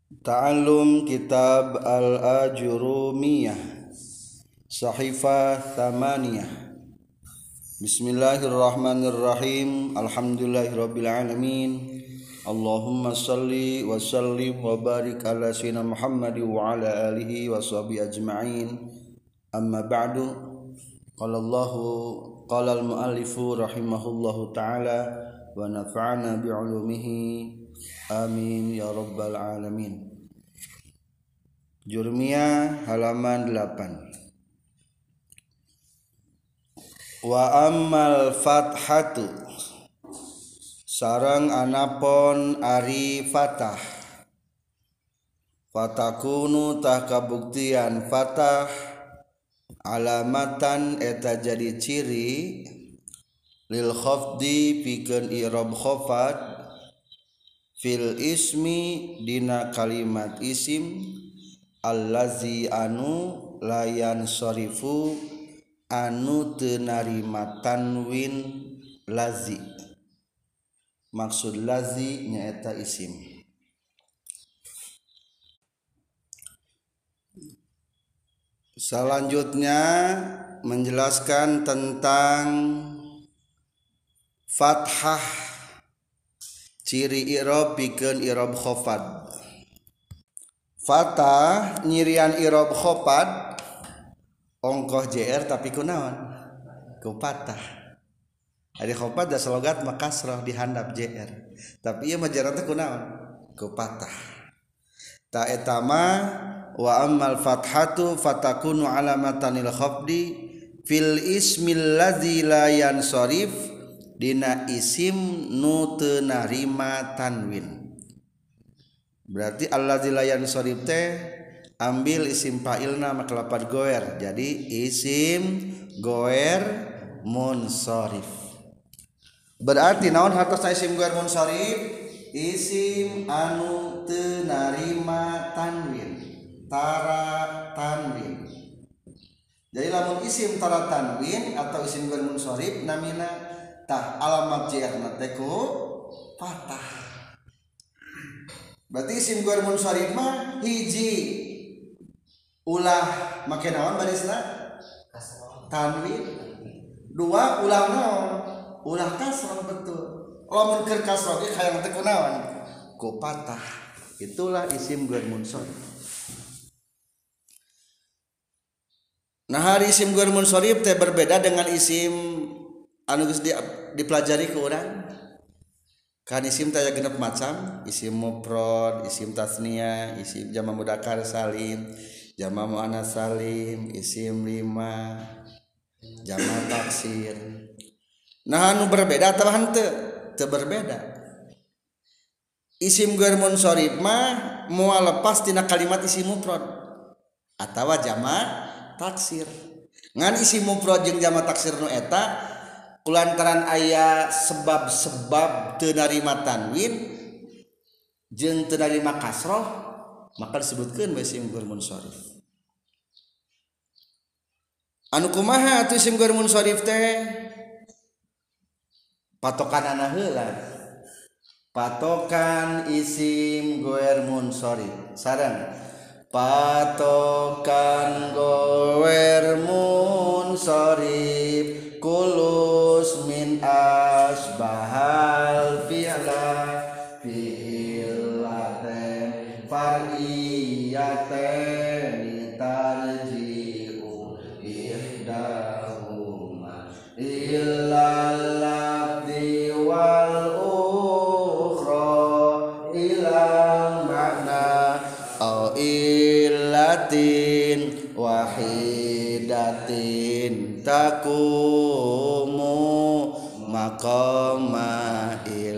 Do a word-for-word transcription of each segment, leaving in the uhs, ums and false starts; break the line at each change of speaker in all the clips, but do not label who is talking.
Ta'allum Kitab Al-Ajurumiyah Sahifah Thamaniyah. Bismillahirrahmanirrahim. Alhamdulillahirrabbilalamin. Allahumma salli wa sallim wa barik ala sayyidina Muhammad wa ala alihi wa sahbihi ajma'in. Amma ba'du. Qala Allahu qala al-muallifu rahimahullahu ta'ala wa nafa'ana bi'ulumihi. Amin ya rabbal alamin. Jurmiyah halaman delapan. Wa ammal fathatu sareng anapun ari fatah, fatakunu tah kabuktian fatah alamatan eta jadi ciri lil khafdi pikeun i'rab khafat fil ismi dina kalimat isim allazi anu layan sorifu anu teu narima tanwin lazi. Maksud lazi nyaeta isim. Selanjutnya menjelaskan tentang fathah, ciri i'rab pikeun i'rab khafad. Fatah nyirian i'rab khafad ongkoh jr tapi kunaon ku patah. Ari khafad da slogat mah kasrah dihandap jr. Tapi ieu mah jr teh kunaon ku patah. Ta eta mah wa ammal fathatu fatakunu alamatan lil khafdi fil ismil ladzi la yansarif dina isim nu teu narima tanwin. Berarti allazi la yansarif teh ambil isim fa'ilna maka lapat goer jadi isim goer munsharif. Berarti naon hartosna isim goer munsharif? Isim anu teu narima tanwin, tara tanwin. Jadi lamun isim tara tanwin atau isim goer munsharif namina tah alamat jerna teh ku fathah. Berarti isim goer munsharif mah hiji ulah make naon barisna tanwin, dua ulah naon ulah kasrah. Betul, lamun keur kasrah ge hayang teh kunaon ku patah. Itulah isim goer munsharif. Nah, hari isim goer munsharif teh berbeda dengan isim anu geus dipelajari ku urang. Kan isim teh aya genep macam, isim mufrad, isim tasniyah, isim jama mudzakkar salim, jama muannas salim, isim lima, jama taksir. Nah, anu berbeda atawa henteu? Teu berbeda. Isim goer munsharif mah moal lepas tina kalimat isim mufrad atawa jama taksir. Ngan isim mufrad jeung jama taksir nu eta kulantaran aya sebab-sebab teu narima tanwin jeung teu narima kasrah maka disebutkeun bae isim goer munsharif. Anu kumaha atuh isim goer munsharif teh? Patokanana heula. Patokan isim goer munsharif sareng patokan goer munsharif kulus min asbahal fi'la fi'laten far'iyaten tarji'u ihdahuma illal lafzi wal ukhra ilal makna au illatin wahidatin takumu maqama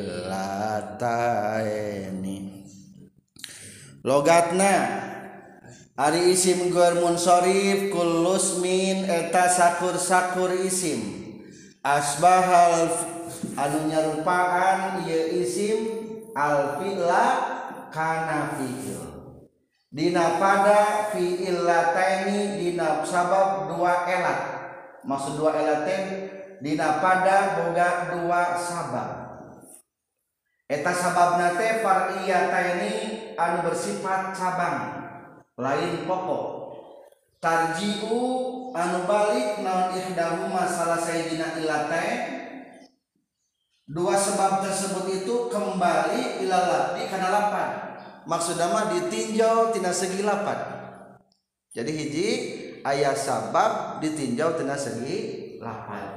illataini. Logatna ari isim goer munsharif kullus min eta sakur-sakur isim asbahal anu nyarupaan ieu isim al fi'la kana fi'il dina pada fi'il lataini dina sabab dua elat. Maksud dua elat teh dina pada boga dua sabab. Eta sababna teh far'iyataini anu bersifat cabang lain pokok. Tarji'u anu balik naon ihdahuma salah sayidina ilatain, dua sebab tersebut itu kembali ila lafdi kana lapan. Maksudna mah ditinjau tina segi lapan. Jadi hiji aya sabab ditinjau tina segi lapan.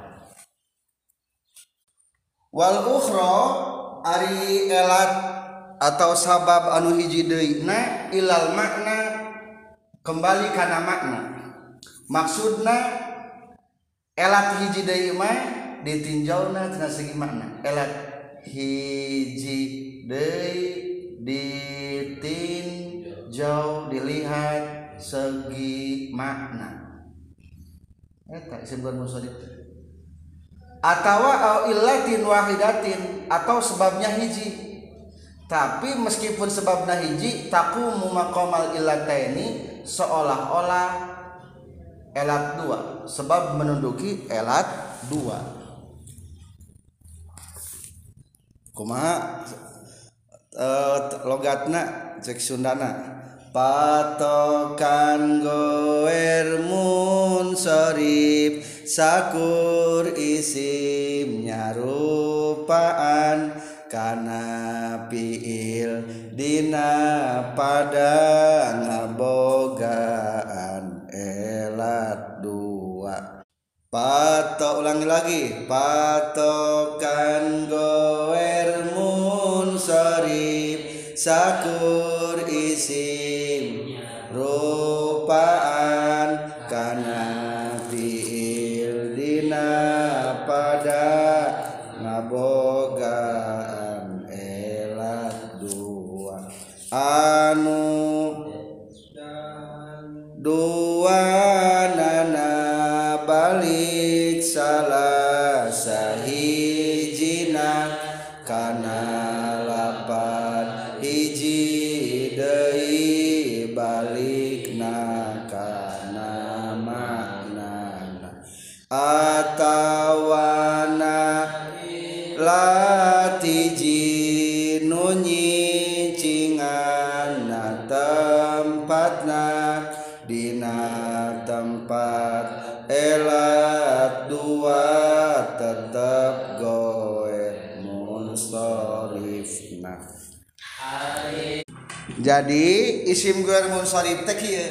Wal ukhra ari elat atau sabab anu hiji deuna ilal makna kembali kana makna. Maksudna elat hiji deui mah ditinjauna tina segi makna. Elat hiji deui ditinjau dilihat segi makna. Eta disebut munsharif. Atawa au illatin wahidatin atau sebabnya hiji, tapi meskipun sebabnya hiji taqumu maqamal illataini seolah-olah elat dua, sebab menunduki elat dua. Kumaha uh, logatna cek Sundana patokan goer munsharif sakur isim nyarupaan kana fiil dina pada ngabogaan elat dua. Pato ulangi lagi patokan goer munsharif sakur isim rupaan kana pada ngabogaan elat dua anu dua nana balik salah sahijina kana lapan hiji deui balikna kana maknana atawana latiji nunyi cingana tempatna dina tempat elat dua tetep goe munsharifna. Jadi isim goer munsharif teh kieu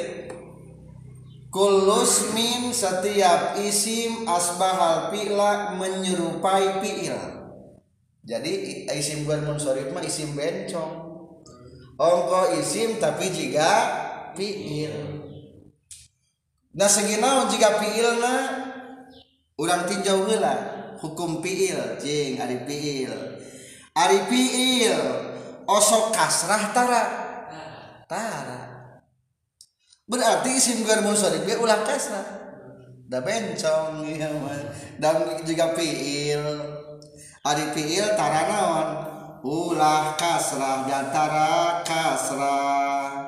kulus min setiap isim asbahal fi'la menyerupai fi'il. Jadi isim goer munsharif mah isim bencong. Ongko isim tapi jika fi'il. Nah seginaon jika fi'ilna urang tinjau heula hukum fi'il jeung ari fi'il. Ari fi'il osok kasrah tara. Tara. Berarti isim goer munsharif ge ulah kasrah. Da bencong ieu mah. Dan juga fiil. Ari fiil tara naon? Ulah kasrah dan tara kasrah.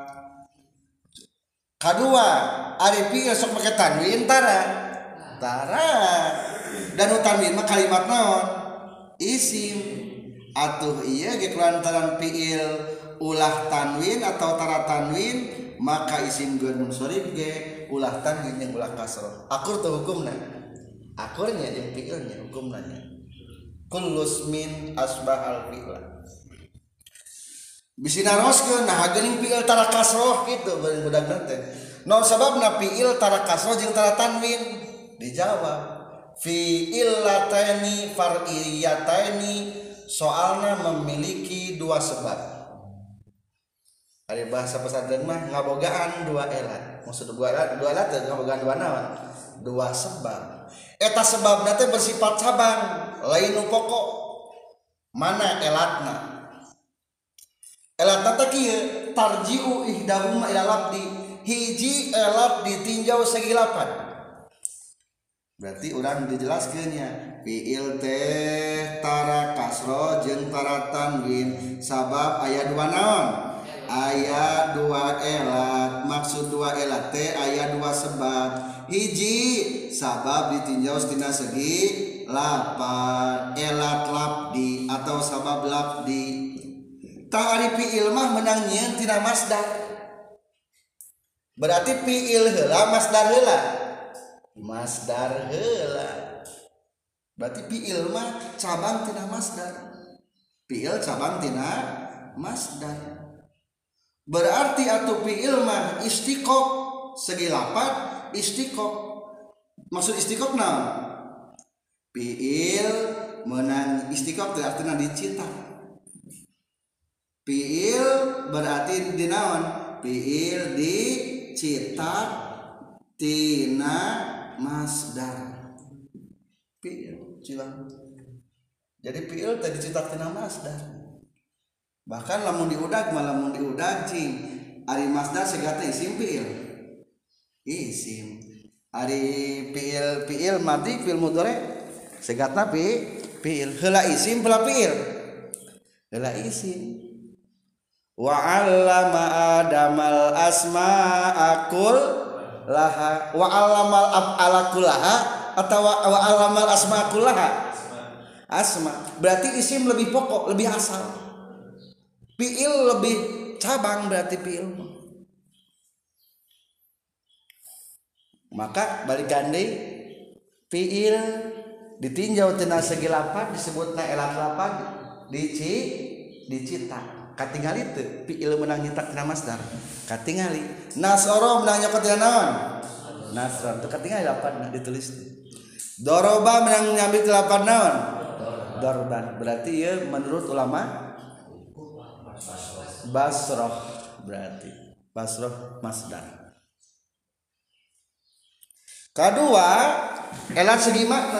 Kadua, ari fiil sok make tanwin tara. Tara. Dan tanwin mah kalimat naon? Isim. Atuh ieu ge kulantaran fiil ulah tanwin atau tara tanwin maka isim goer munsharif ge ulah tanwin jeung ulah kasrah. Akur teh hukumna. Akurnya jeung fiilnya hukumna. Kullus min asbahal fi'la. Bisi naroskeun nah geuning fiil tara kasrah kitu beureun budak teh. Naon sababna fiil tara kasrah jeung tara tanwin? Dijawab. Fi'il lataini far'iyataini soalna memiliki dua sebab. Ari bahasa pesantren mah ngabogaan dua elat. Maksud dua elat, dua elat teh ngabogaan dua naon? Dua sebab. Eta sebabna teh bersifat cabang, lain nu pokok. Mana elatna? Elatna teh kieu, tarji'u ihdahuma ila labdi. Hiji elat ditinjau segi lapan. Berarti urang dijelaskeun nya, fiil teh tara kasro jeung tara tanwin sabab aya dua naon? Aya dua elat. Maksud dua elat teh aya dua sebab. Hiji sabab ditinjau tina segi lapan, elat labdi atau sabab labdi. tah ari fiil mah menang nyieun tina masdar. Berarti fiil heula masdar heula. Masdar heula. Berarti fiil mah cabang tina masdar. Fiil cabang tina masdar. Berarti atuh fiil mah istiqaq segi lapat istiqaq. Maksud istiqaq naon? Fiil meunang istiqaq teh artina dicita. Fiil berarti dinaon? Fiil dicitat tina masdar. Fiil cilang. Jadi fiil teh dicitat tina masdar. Bahkan lamun diudag mah lamun diudag cing ari masdar segata isim fiil. Isim. Ari fiil fiil madi fiil mudhari segatna fi fiil. Heula isim heula fiil. Heula isim. Wa 'allama adamal asma'a kullaha wa 'allamal af'ala kullaha atau wa 'allamal asma'a kullaha. Asma berarti isim lebih pokok, lebih asal. Fiil lebih cabang berarti fiil. Maka balik gandhi fiil ditinjau tina segi lapan disebutna elat lapan dici dicita. Katingali teu fiil meunang nyitak tina masdar. Katingali nasoro meunang nyokot tina naon? Nasron teu katingali lapan ditulis. Doroba meunang nyambi tina lapan naon? Dorban. Berarti ieu menurut ulama Basroh berarti Basroh masdar. Kedua, elat segi makna.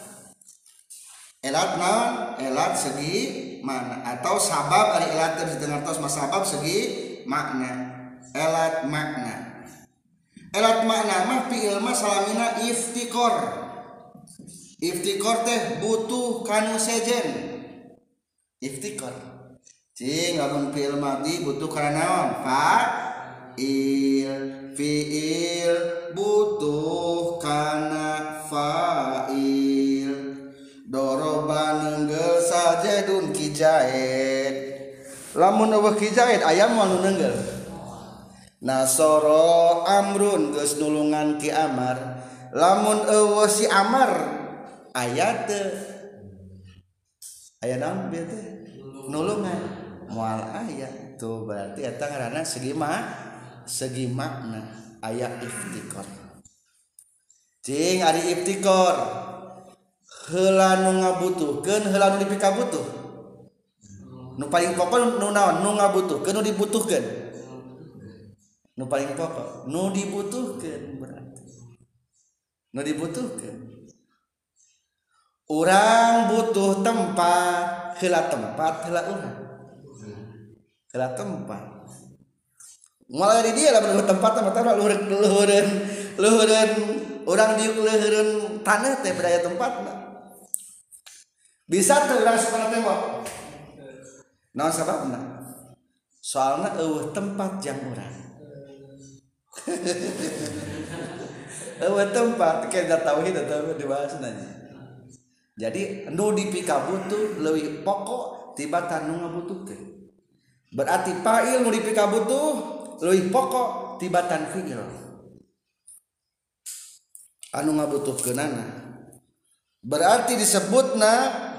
Elat naon? Elat segi makna atau sabab ari elat teh didengartos mas sabab segi makna. Elat makna. Elat makna mah fiil mah salamina iftikor. Iftikor teh butuh kanu sejen. Iftikor. Cing lamun fiil madi butuh kana naon? Fa'il. Fiil butuh kana fa'il. Doroba neunggel sajadun kijaid. Lamun eueuh kijaid aya moal nu neunggel. Nasoro amrun geus nulungan ki Amar. Lamun eueuh si Amar aya teu? Aya naon bieu teh? Nulungan. Moal aya tuh berarti eta ngaranna segi ma segi makna aya iftikor. Cing ari iftikor heula nu ngabutuhkeun heula nu dipikabutuh. Nu paling pokok nu naon? Nu ngabutuhkeun nu dibutuhkeun. Nu paling pokok nu dibutuhkeun berarti. Nu dibutuhkeun. Urang butuh tempat, heula tempat heula urang. Heula tempat. Mulai di dia lah bener tempat mah tara luhureun luhureun luhureun urang di luhureun taneuh teh berdaya tempatna. Bisa teu urang sakola tembok. Naon sababna? Soalna eueuh tempat jang urang. Eueuh tempat kena tauhid atawa dibahas nanya. Jadi nu dipikabutuh leuwih pokok tibatan nu ngabutuhkeun. Berarti fa'il nu dipikabutuh leuwih pokok tibatan fi'il. Anu ngabutuhkeunana. Berarti disebutna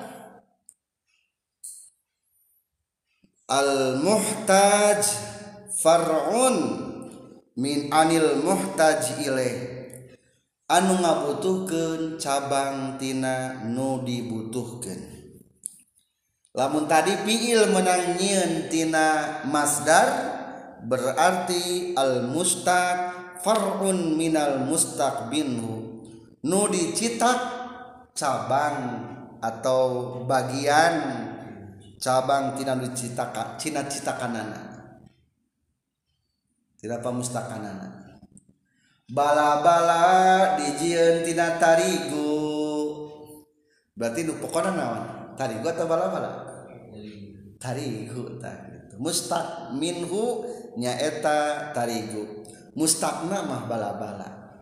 al-muhtaj far'un min anil muhtaj ilaih. Anu ngabutuhkeun cabang tina nu dibutuhkeun. Lamun tadi fiil meunang nyieun tina masdar berarti al mustaq far'un minal mustaq binhu. Nu dicitak cabang atau bagian cabang tina nu dicitaka cina citakanana. Tina pamustakanana. Bala-bala dijieun tina tarigu. Berarti nu pokona naon? Tarigu atau bala-bala? Tarigu tah gitu. Mustaq minhu nyaeta tarigu. Mustaqna mah bala-bala.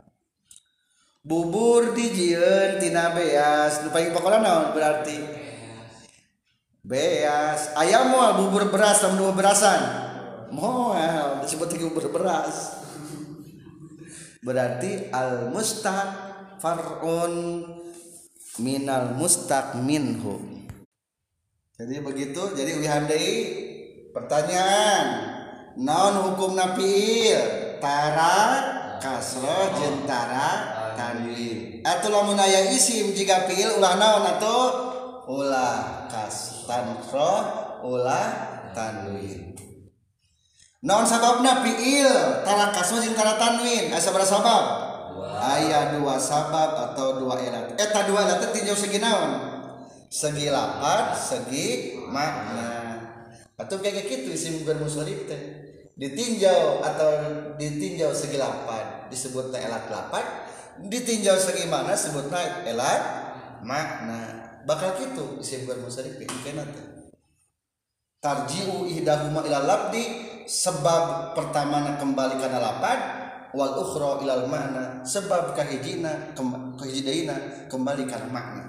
Bubur dijieun tina beas. Nu paling pokona naon berarti? beas aya moal bubur beras sama dua berasan moal disebut bubur beras berarti al mustaq far'un minal mustaq minhu. Jadi begitu. Jadi wihandai pertanyaan naon hukumna fiil tara kasroh jeung tara tanwin atuh lamun aya isim jika fiil ulah naon atuh ulah kas tanroh ulah tanwin. Naon sababna fiil tara kasroh jeung tara tanwin aya sabaraha sabab aya dua sabab atau dua elat eta dua elat teh tinjau segi naon segi lafaz segi makna atau kayak gitu isim mufrad munsharif teh ditinjau atau ditinjau segi lafaz disebutna elat lafaz ditinjau segi mana sebutna elat makna bakal gitu isim mufrad munsharif kana teh tarji'u ihdahuma ila labdi sebab pertamana kembali kana lafaz wal ukhra ilal makna sebab kahijina kahijina kembali kana makna.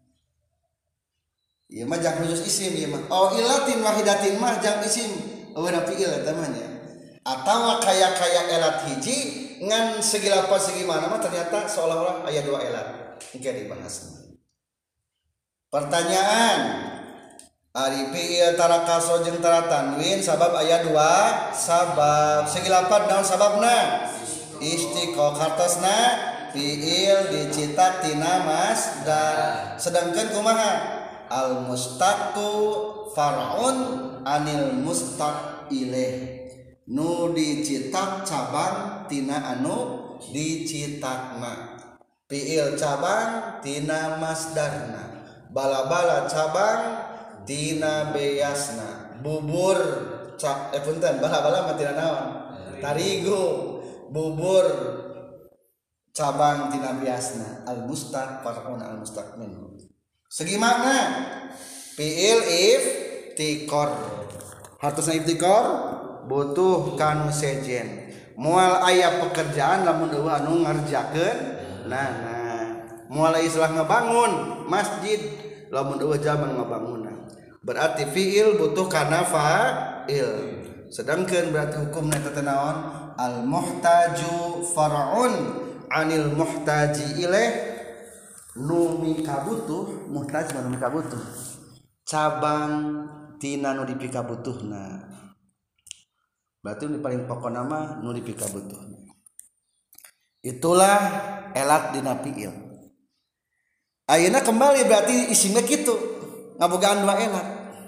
Ieu mah jang khusus isim ieu mah. Oh ilatin wahidatin mah jang isim eueuna fiil eta mah nya. Atawa kaya-kaya elat hiji ngan segi lafaz segi mana mah ternyata seolah-olah aya dua elat. Engke dibahas. Pertanyaan ari fiil tara kasroh jeung tara tanwin sabab aya dua sabab. Segi lafaz naon sababna? Istiqaq hartosna fiil dicitak tina masdar. Sedangkan kumaha? Al mustaqu far'un anil mustaq ilaih nu dicitak cabang tina anu dicitakna fiil cabang tina masdarna bala-bala cabang tina beasna bubur ca eh punten bala-bala mah tina naon tarigu bubur cabang tina beasna al mustaq far'un al mustaq minhu. Segi makna fiil iftikor hartosna iftikor butuh kanu sejen moal aya pekerjaan lamun eueuh anu ngarjakeun nah nah moal istilah ngebangun masjid lamun eueuh jaman ngabangunan berarti fiil butuh kana fa'il sedangkeun berarti hukumna eta teh naon al muhtaju far'un anil muhtaji ilaih nu mikabutuh muhtaj nu mikabutuh cabang tina nu dipikabutuhna berarti nu paling pokok nama nu dipikabutuhna itulah elat dina fiil. Ayeuna kembali berarti isimnya kitu ngabogaan dua elat.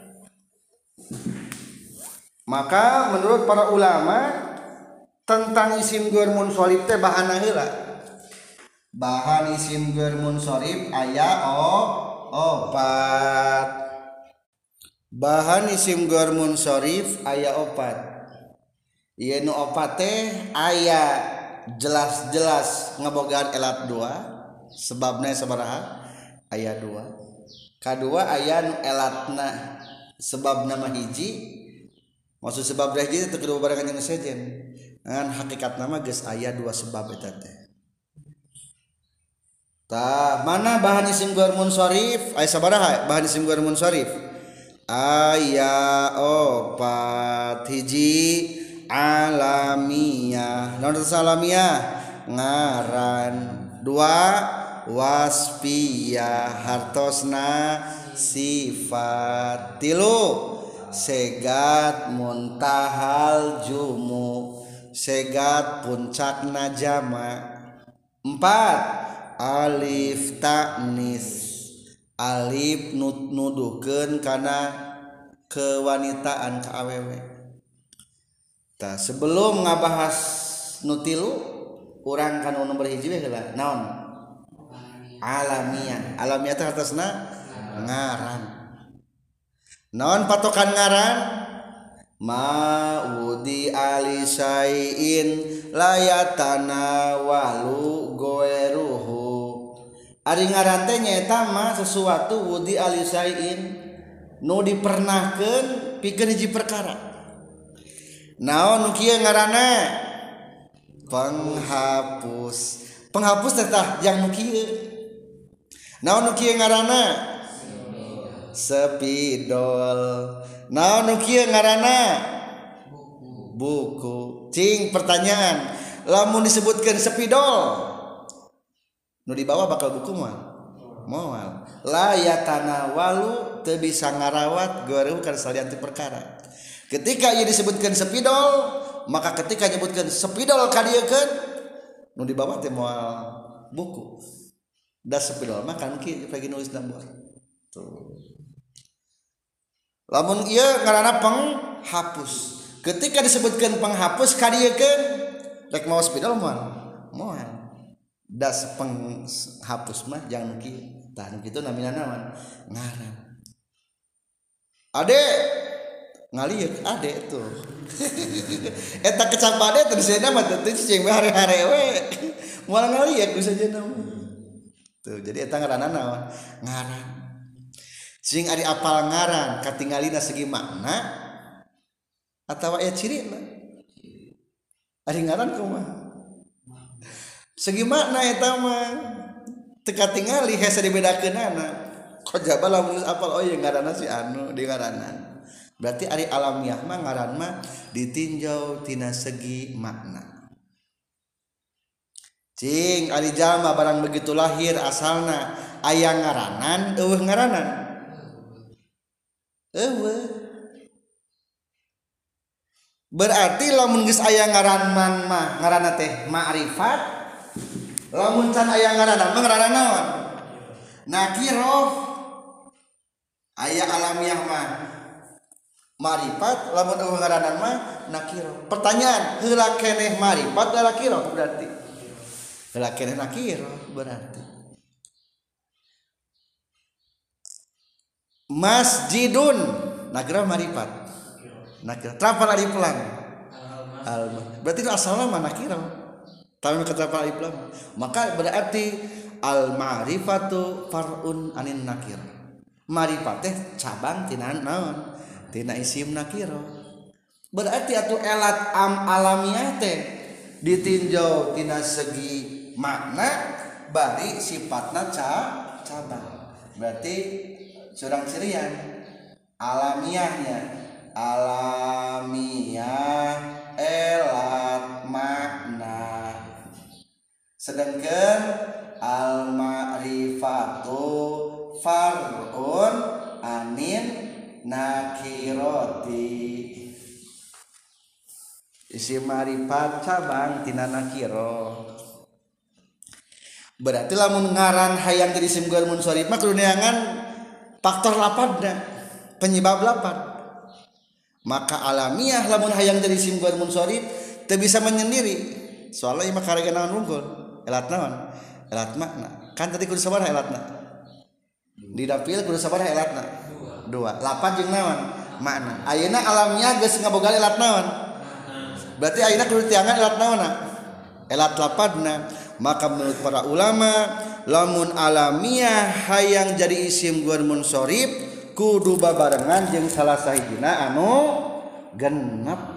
Maka menurut para ulama tentang isim ghair munsharif teh bahanna heula. Bahan isim ghair munsharif aya o opat. Bahan isim ghair munsharif aya opat. Ieu nu opat teh aya jelas-jelas ngabogaan elat dua. Sebabna sabaraha? Aya dua. Kadua aya nu elatna sebabna mah hiji. Maksud sebab hiji teh kudu barengan jeung sejen. Ngan hakikatna mah geus aya dua sebab eta teh. Tah mana bahan isim ghair munsharif aya sabaraha bahan isim ghair munsharif aya opat hiji alamiah naon eta alamiah ngaran dua wasfiyah hartosna sifat tilu segat muntahal jumu segat puncakna jama empat alif ta'nis alif nuduhkeun kana kewanitaan ka awewe. Tah sebelum ngabahas nu tilu urang kana nomor hiji we heula naon alamiah alamiah teh atasna ngaran naon patokan ngaran ma'udi alisaiin layatana walu goeruhu ari ngaran teh nyaeta mah sesuatu wudi alisaiin nu dipernahkeun pikeun hiji perkara naon nu kieu ngaranna penghapus penghapus teh tah yang nu kieu naon nu kieu ngaranna Spidol. Naon nu kieu ngaranna? Buku. Cing pertanyaan, lamun disebutkeun spidol nu di bawah bakal buku moal. Moal. La yatanawalu teu bisa ngarawat goreu kana salian ti perkara. Ketika ieu disebutkeun spidol, maka ketika nyebutkeun spidol kadiekeun nu di bawah teh moal buku. Da spidol mah kan kieu bagi nulis gambar. Tuh. Lamun ieu ngaranna penghapus. Ketika disebutkan penghapus kadiekeun rek maos spidol moal. Moal. Das penghapus mah jangan kieu. Tah nu kitu namina naon? Ngaran. Ade ngalieur ade tuh. Eta kecap ade teh disena mah teh cing hare-hare we. Moal ngalieur ku sajeuna. Tuh jadi eta ngaranna naon? Ngaran. Cing ari apal ngaran katinggalina segi makna atawa aya cirina. Ari ngaran kumaha? Segi makna eta mah teu katingali hese dibedakeunana. Kojaba lamun apal oh ye ngaranna si anu di ngaranan. Berarti ari alamiah mah ngaran mah ditinjau tina segi makna. Cing ari jalma barang begitu lahir asalna aya ngaranan eueuh ngaranan. Eueuh. Berarti lamun geus aya ngaranman mah ngaranna teh ma'rifat. Lamun can aya ngaranan mah ngaranna naon? Nakirah. Aya alamiah mah ma'rifat, lamun eueuh ngaranan mah nakirah. Pertanyaan, heula keneh ma'rifat da nakirah berarti? Heula keneh nakirah berarti. Masjidun nakirah ma'rifat. Nakirah. Trapal alif lam. Alma. Berarti asalna mah nakirah. Tapi kata alif lam. Maka berarti al ma'rifatu far'un anin nakir. Ma'rifat teh cabang tina naon? Tina isim nakirah. Berarti atuh elat am alamiah teh ditinjau tina segi makna bari sifatna ca cabang. Berarti surang cirian alamiahnya alamiah elat makna. Sedangkan al ma'rifatu far'un anin nakirati. Isim ma'rifat cabang tina nakirah. Berarti lamun ngaran hayang jadi isim ghair munsharif mah kudu neangan faktor lapadna, penyebab lapad. Maka alamiah lamun hayang jadi isim ghair munsharif teu bisa menyendiri. Soalnya ieu mah karega naon unggul? Elat naon? Elat makna. Kan tadi kudu sabaraha elatna? Di dapil kudu sabaraha elatna? Dua. Lapad jeung naon? Makna. Ayeuna alamiah geus ngaboga elat naon? Berarti ayeuna kudu tiangan elat naonna? Elat lapadna. Maka menurut para ulama lamun alamiah hayang jadi isim ghair munsharif kudu babarengan jeung salah sahijina anu genep.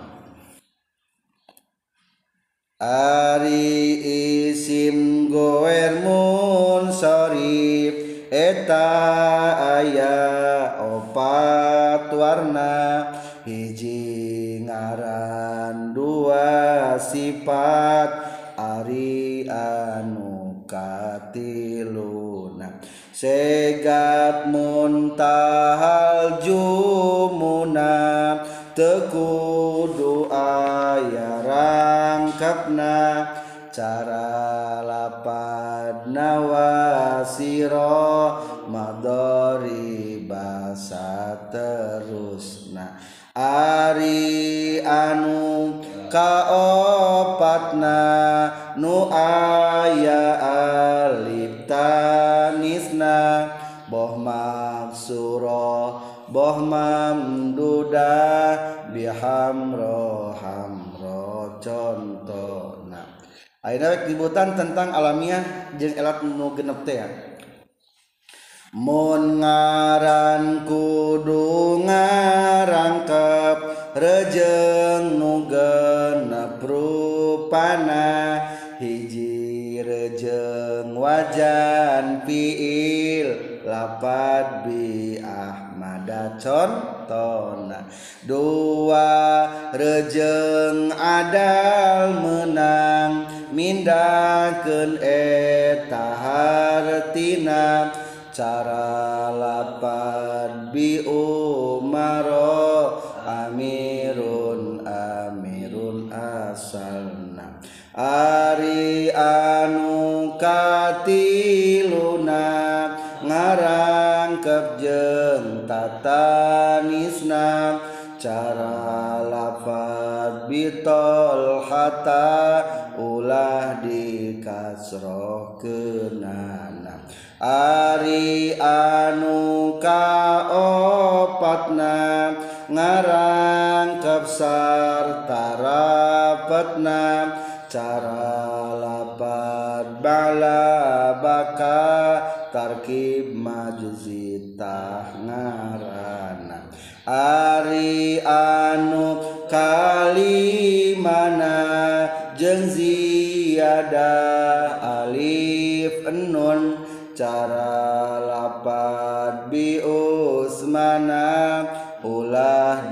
Ari isim ghair munsharif eta aya opat warna, hiji ngaran dua sifat ari anu katiluna segat muntahal jumuna tekudu aya rangkapna cara lapadna wasiro madori basa terusna ari anu kaopatna nu aya alif tanisna boh maksuro boh mamdudah bihamro hamro contona. Ayeuna ributan tentang alamiah jeung elat nu genep teh. Mun ngaran kudu ngarangkep rejeng nu genep rupana, hiji rejeng wajan fiil lapad bi ah ada contona dua rejeng adal menang mindakeun eta hartina cara lapad bi umaro amirun amirun asalna ari anu katiluna ngarangkep jeung tatanisna cara lafad bitol hata ulah dikasrohkeunana ari anu kaopatna ngarangkep sarta rapetna cara lapad bala baka tarkib majuzitah ngarana ari anu kalimana jeung ziyadah alif nun cara lapad bi usmana ulah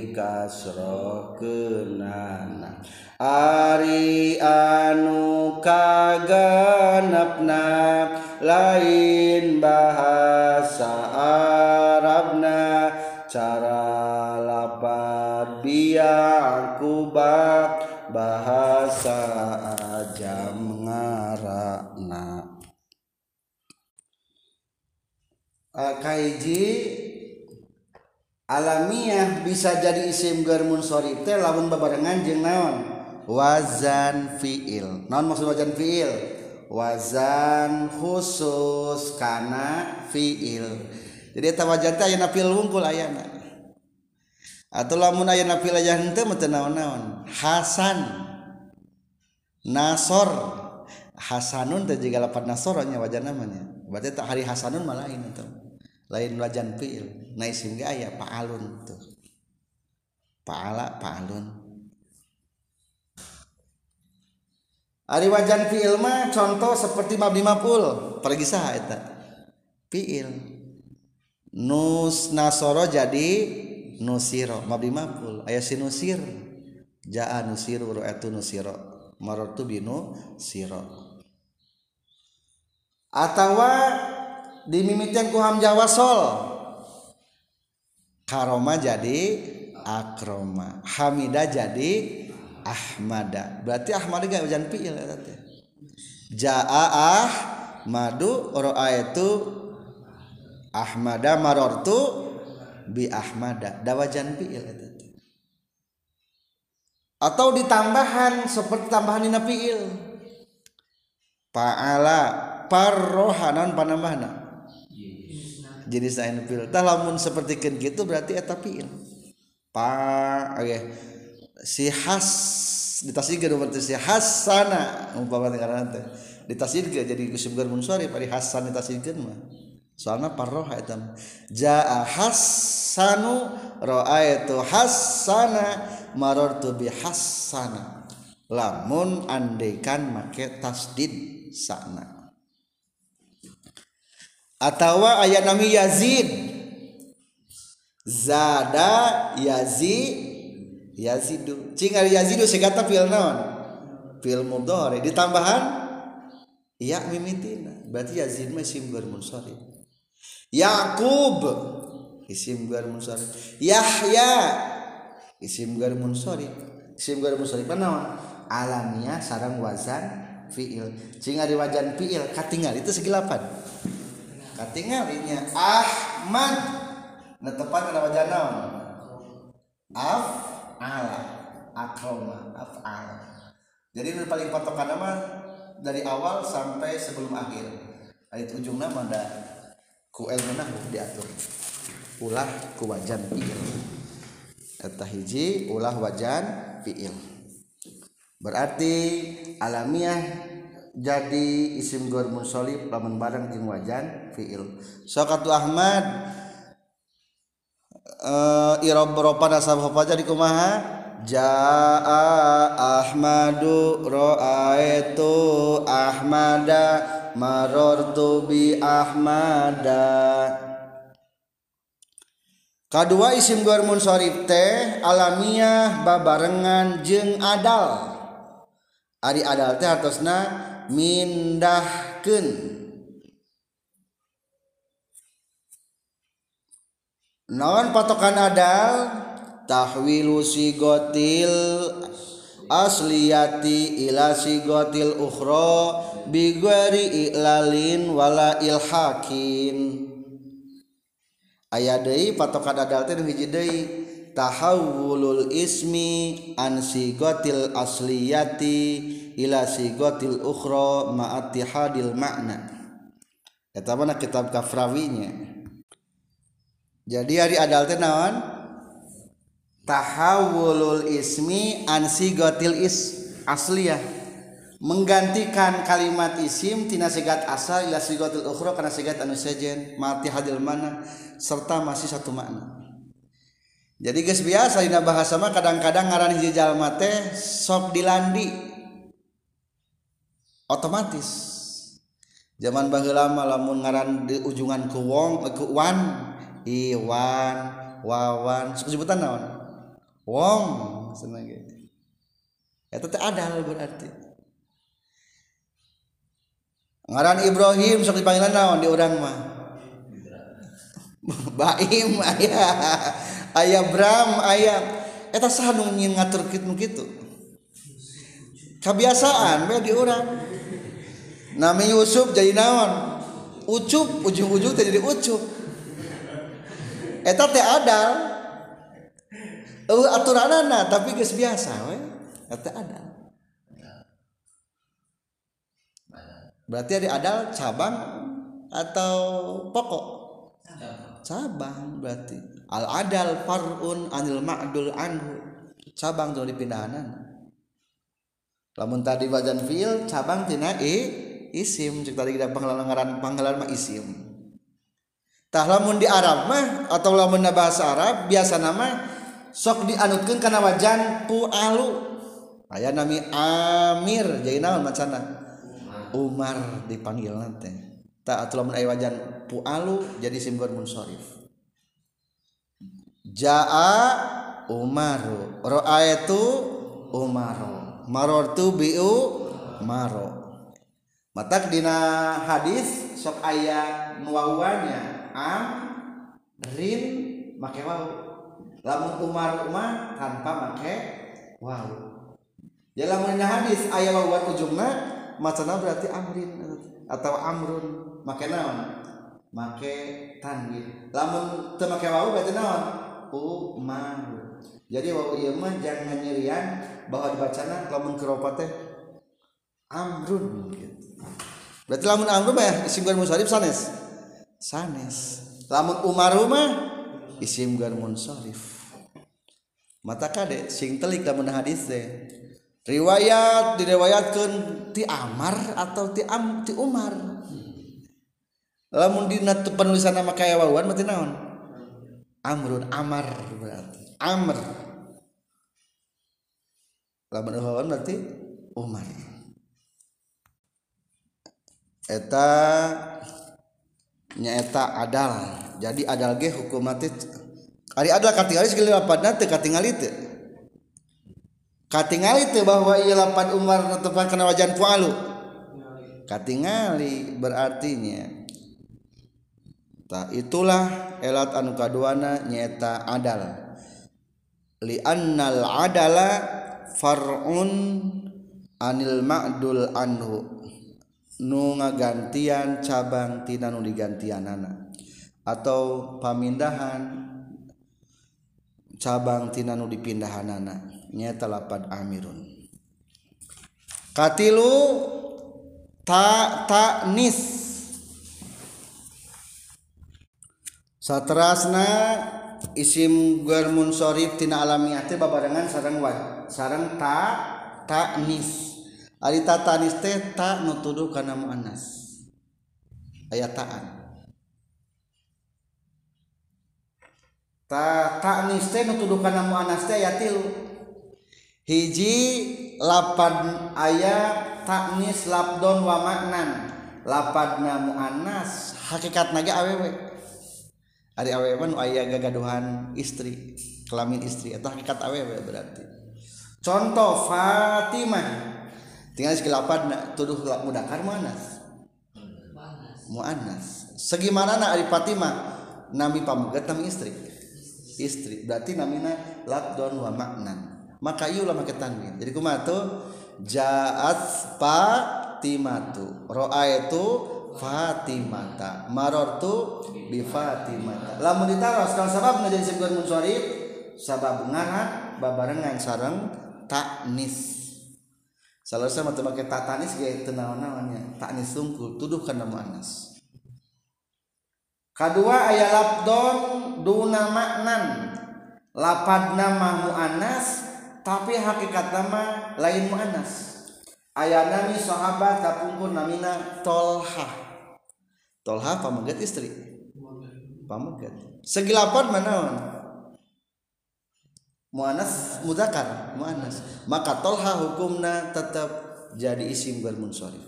dikasrohkeunana ari anu kaganepna lain bahasa Arabna cara lapad biyakuba bahasa ajam ngarana kaiji alamiah bisa jadi isim ghair munsharif teh lamun babarengan jeung naon wazan fiil. Naon maksud wazan fiil? Wazan khusus kana fiil. Jadi eta wazan teh aya fiil wungkul ayana. Atau lamun aya fiil aya henteu mah teu naon-naon. Hasan, Nasor, Hasanun teh jiga lapan Nasor nya wazan namanya. Berarti tak hari Hasanun mah lain eta. Lain wazan fiil. Nah isim ge aya fa'alun tuh. Fa'ala fa'alun. Ari wajan fiil mah contoh seperti mabni maf'ul pergi saha eta fiil nus nasoro jadi nusiro mabni maf'ul aya si nusir jaa nusiru ra'atu nusiro marartu binu siro atawa dimimitian ku hamzah wasol karoma jadi akroma hamida jadi ahmada berarti ahmada gak wajan fiil eta teh jaa ahmadu ra'aitu ahmada marartu bi ahmada da wajan fiil eta teh atau ditambahan seperti tambahan dina fiil fa'ala parrohanan panambahna jadi saen fiil tah lamun sapertikeun kitu berarti eta fiil pa okay. Si has ditasydikeun berarti si hasana umpama ngaranna teh ditasydikeun jadi isim ghair munsharif ari hasan ditasydikeun mah soalna parroha eta jaa hasanu ra'aitu hasana marartu bi hasana lamun andaikan make tasdid sana atawa aya nami Yazid zada Yazid Yazidu cing ari Yazidu segata fiil naon fiil mudhari ditambahan ya mimitina berarti Yazid mah isim ghair munsharif Yaqub isim ghair munsharif Yahya isim ghair munsharif isim ghair munsharif naon alamiah sareng wazan fiil cing ari wazan fiil katingal itu segi lapan katingalinya Ahmad netepan kana wazan naon af ala akroma af'al jadi nu paling patokan nama dari awal sampai sebelum akhir ayat ujungna mah da ku ilmu nahwu diatur ulah ku wajan fiil eta hiji ulah wajan fiil berarti alamiah jadi isim ghair munsharif lamun bareng jeung wajan fiil sok atuh Ahmad Uh, irob ropada sabah jadi kumaha jaa Ahmadu ra'aitu Ahmada marartu bi Ahmada Kadua isim guar munsharif teh alamiah babarengan jeung adal. Ari adal teh hartosna mindahkeun. Naon patokan adal? Tahwilu sigotil asliyati ila sigotil ukhra bi ghairi ilalin wala ilhakin. Aya deui patokan adal teh hiji deui tahawulul ismi an sigotil asliyati ila sigotil ukhra ma'attihadil makna. Eta mah kitab Kafrawinya. Jadi ari adal teh naon? Tahawulul ismi an sigotil is asliyah, menggantikan kalimat isim tina sigat asal ila sigotil ukhra kana sigat anu sejen ma'attihadil makna serta masih satu makna. Jadi geus biasa dina bahasa mah kadang-kadang ngaran hiji jalma teh sok dilandi otomatis. Zaman baheula mah lamun ngaran di ujungan ku wong ku wan iwan wawan sok sebutan naon wong seneng gitu. Eta teh adal berarti. Ngaran Ibrahim sok dipanggilan naon di urang mah Baim aya aya Bram aya eta saha nu ngatur kitu kitu kebiasaan we di urang. Nami Yusuf jadi naon ucup ujung-ujung teh jadi ucup. Eta teh adal eueuh aturanana tapi geus biasa we eta adal. Berarti ada adal cabang atau pokok? Cabang berarti. Al adal far'un anil ma'dul anhu. Cabang dari dipindahanan. Lamun tadi wajan fiil cabang tina i isim cek tadi kita panggelan ngaran panggelan mah isim. Tah lamun di Arab mah atau lamun bahasa Arab biasa nama sok dianutkeun kana wajan pu'alu. Aya nami Amir jadi naon macana? Umar dipanggil nanti. Tak atuh lamun aya wajan pu'alu jadi isim guar munsharif. Jaa Umaru, ra'aitu Umaru, marartu bi'u maro. Matak dina hadis sok aya nuwawannya am rin make waw. Lamun Umar Umar tanpa make waw. Ya lamun dina hadis aya wawan ujungna macana berarti amrin atau amrun make naon? Make tanwin. Lamun teu make waw berarti naon? Umar. Jadi waw ieu mah jangan nyirian bahwa dibacana lamun keropat teh amrun gitu. Berarti lamun amrun mah isim guar munsharif sanes. Sanes. Lamun Umar mah isim guar munsharif. Mata kade sing telik lamun hadis teh. Riwayat diriwayatkeun ti Amar atau ti Am ti Umar. Lamun dina penulisan nama kaya wawan berarti naon? Amrun Amar berarti. Amr. Lamun wawan berarti Umar. Eta nyaeta adal. Jadi adal ge hukum mati. Ari adal katingali segala lapadna teu katingali teu. Katingali teu bahwa ieu lapad Umar netepan kana wajan pu'alu. Katingali berartinya ta itulah elat anu kaduana nyaeta adal. Li annal adala far'un anil ma'dul anhu. Nu ngagantian cabang tina nu digantianana atau pamindahan cabang tina nu dipindahanana nyaeta lapad amirun. Katilu ta ta'nis saterasna isim guar munsharif tina alamiah teh babarengan sareng wa sareng ta ta'nis. Ari ta ta'nis teh ta nutuduh kana muannas. Aya ta'an. Ta ta'nis teh nutuduh kana muannas teh aya tilu. Hiji lapad aya ta'nis labdon wa maknan. Lapadna muannas hakikatna ge awewe. Ari awewe nu aya gagaduhan istri kelamin istri eta hakikat awewe berarti. Contoh Fatimah tinggal sekilapan tuduh mudakar muannas muannas segimana na ari Fatimah nami pamegat nami istri istri berarti namina labdon wa maknan maka ieu ulah make tanwin jadi kumaha tuh jaat Fatimatu ra'aitu Fatimata marartu bi Fatimata lamun ditaros kalau sababna jadi sebuah munsharif sabab ngaran babarengan sareng taknis salasa mah teu make taknis ge teu naon-naonnya taknis sungkul tuduh kana muannas. Kadua aya labdon duna maknan lapadna mah muannas tapi hakikatna mah lain muannas. Aya nami sahabat kapungkur namina Tolha. Tolha pamegat istri. Pamegat. Segi lapad manaon? Muannas muzakkar, muannas. Maka Tolha hukumna tetap jadi isim bermunsharif.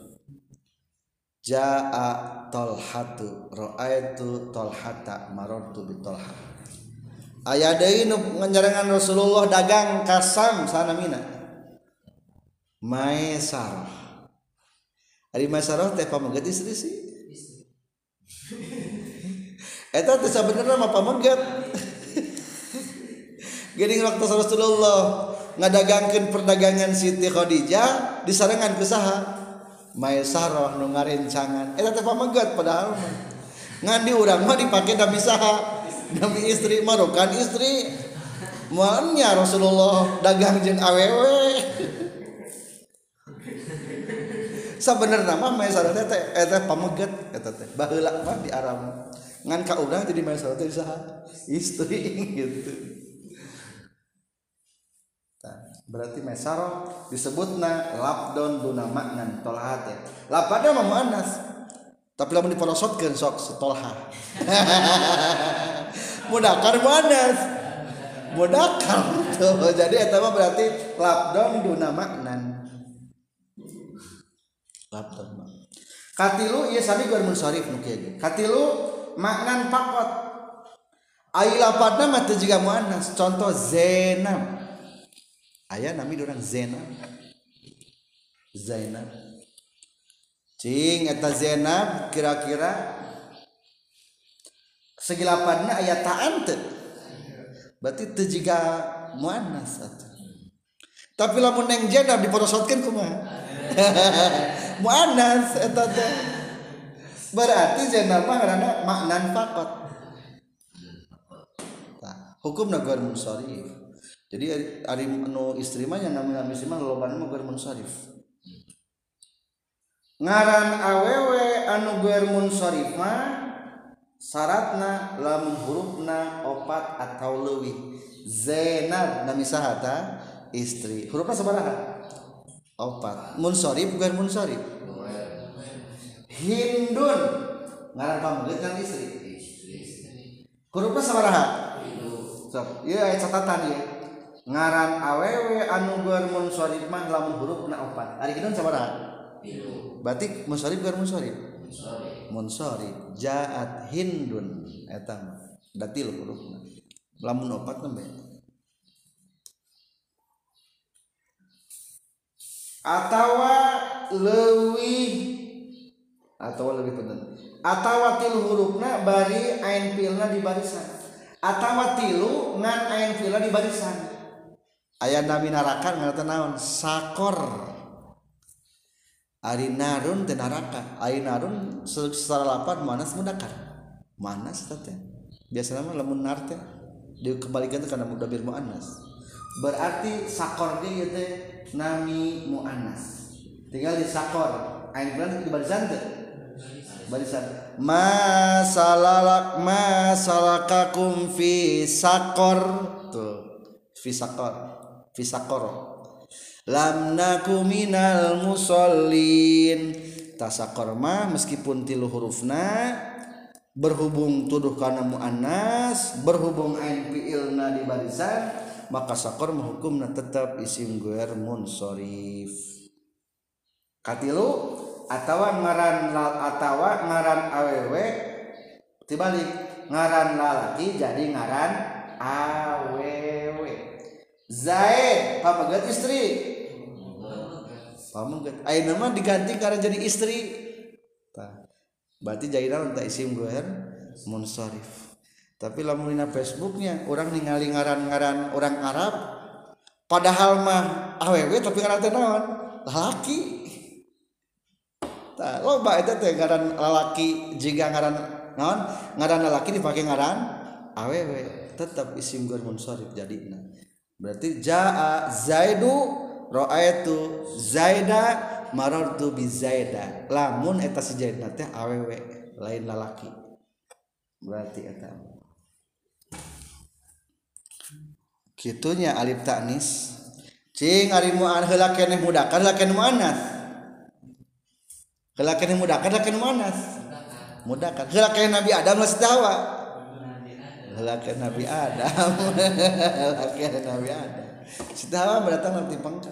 Jaa Tolhatu ra'aitu Tolhata marartu bi Tolha. Aya deui nu nganjarengan Rasulullah dagang kasam sanamina. Maisarah. Ari Maisarah teh pamegat istri sih. Eta teh sabenerna mah pamegat. Geuning waktu Rasulullah ngadagangkeun perdagangan Siti Khadijah disarengan ku saha? Maisarah nu ngarencangan. Eta teh pamegat padahal mah. Ngan di urang mah dipake nami saha? Nami istri mah kan istri. Moalnya Rasulullah dagang jeung awewe. Sabenerna mah Maisarah teh eta pamegat eta teh. Baheula mah di Arab. Ngan ka urang jadi Maisarah teh saha? Istri gitu. Berarti Maisarah disebutna labdon duna maknan tolha teh. Lapadna mah muannas. Tapi lamun diporosotkeun sok setolha. Mudakar muannas. Mudakar tuh. Jadi eta mah berarti labdon duna maknan. Labdon mah. Katilu ieu sami gur munsharif nu kieu. Katilu maknan faqat. Ai lapadna mah teu jiga muannas. Contoh Zainab. Aya nami orang Zainab. Zainab. Cing eta Zainab kira-kira segi lapadna aya ta'an teu? Berarti teu jiga muannas atuh. Tapi lamun neng Zainab diporosotkeun kumaha? Muannas eta teh. Berarti Zainab mah ngaranna maknan faqat. Tah, hukumna ghair munsharif. Jadi ari anu istri mah yang namina istri mah lolobana mah ghair munsharif. Ngaran awewe anu ghair munsharif mah syaratna lamun hurufna opat atau leuwih. Zainab nami saha ta? Istri. Hurufna sabaraha? Opat. Munsharif ghair munsharif. Hindun ngaran pamegat kan istri. Hurufna sabaraha? Sok, ieu aya catatan ieu. Ngaran awewe anu ghair munsharif mah lamun hurufna opat. Ari kitu sabaraha? Tilu. Berarti munsharif ghair munsharif? Munsharif. Munsharif. Jaat Hindun eta mah. Da tilu hurufna. Lamun opat nembe. Atawa leuwih atawa leuwih punten. Atawa tilu hurufna bari ain fiilna di barisan. Atawa tilu ngan ain fiilna di barisan. Aya nami narakan ngaranna naon? Sakor. Ari narun teh naraka. Ari narun secara lapad muannas mudzakkar. Muannas teh. Biasana mah lamun nar teh dikembalikan teh kana mudzakkar muannas. Berarti sakor ge ieu teh nami muannas. Tinggal di sakor. Ain fiilna di barisan teh. Barisan. Ma salalak ma salakakum fi sakor. Tuh. Fi sakor. Fisakor lam naku minal musallin tasakor mah meskipun tilu hurufna berhubung tuduh kana muannas berhubung ain fiilna di barisan maka sakor mah hukumna tetap isim ghair munsharif. Katilu atawa ngaran atawa ngaran awewe tibalik ngaran lalaki jadi ngaran awewe. Zaid pamegat istri pamegat ayeuna mah diganti karena jadi istri tah berarti jadilah untuk isim goer munsharif. Tapi lamun dina Facebooknya orang ningali ngaran-ngaran orang Arab padahal mah awewe tapi ngaran teh naon lalaki. Tah loba eta teh ngaran lalaki jiga ngaran naon ngaran lalaki dipake ngaran awewe tetap isim goer munsharif jadina. Berarti jaa Zaidu ra'aitu Zaida marartu bi Zaida. Lamun eta si Zaidna teh awewe lain lalaki. Berarti eta kitunya alif ta'nis. Cing ari mu'an heula keneh mudakar heula keneh mu'annas. Heula keneh mudakar heula keneh mu'annas. Mudakar. Heula keneh Nabi Adam geus dawa. Laki Nabi Adam, laki Nabi Adam. Sitawa berdatang nanti pangkat.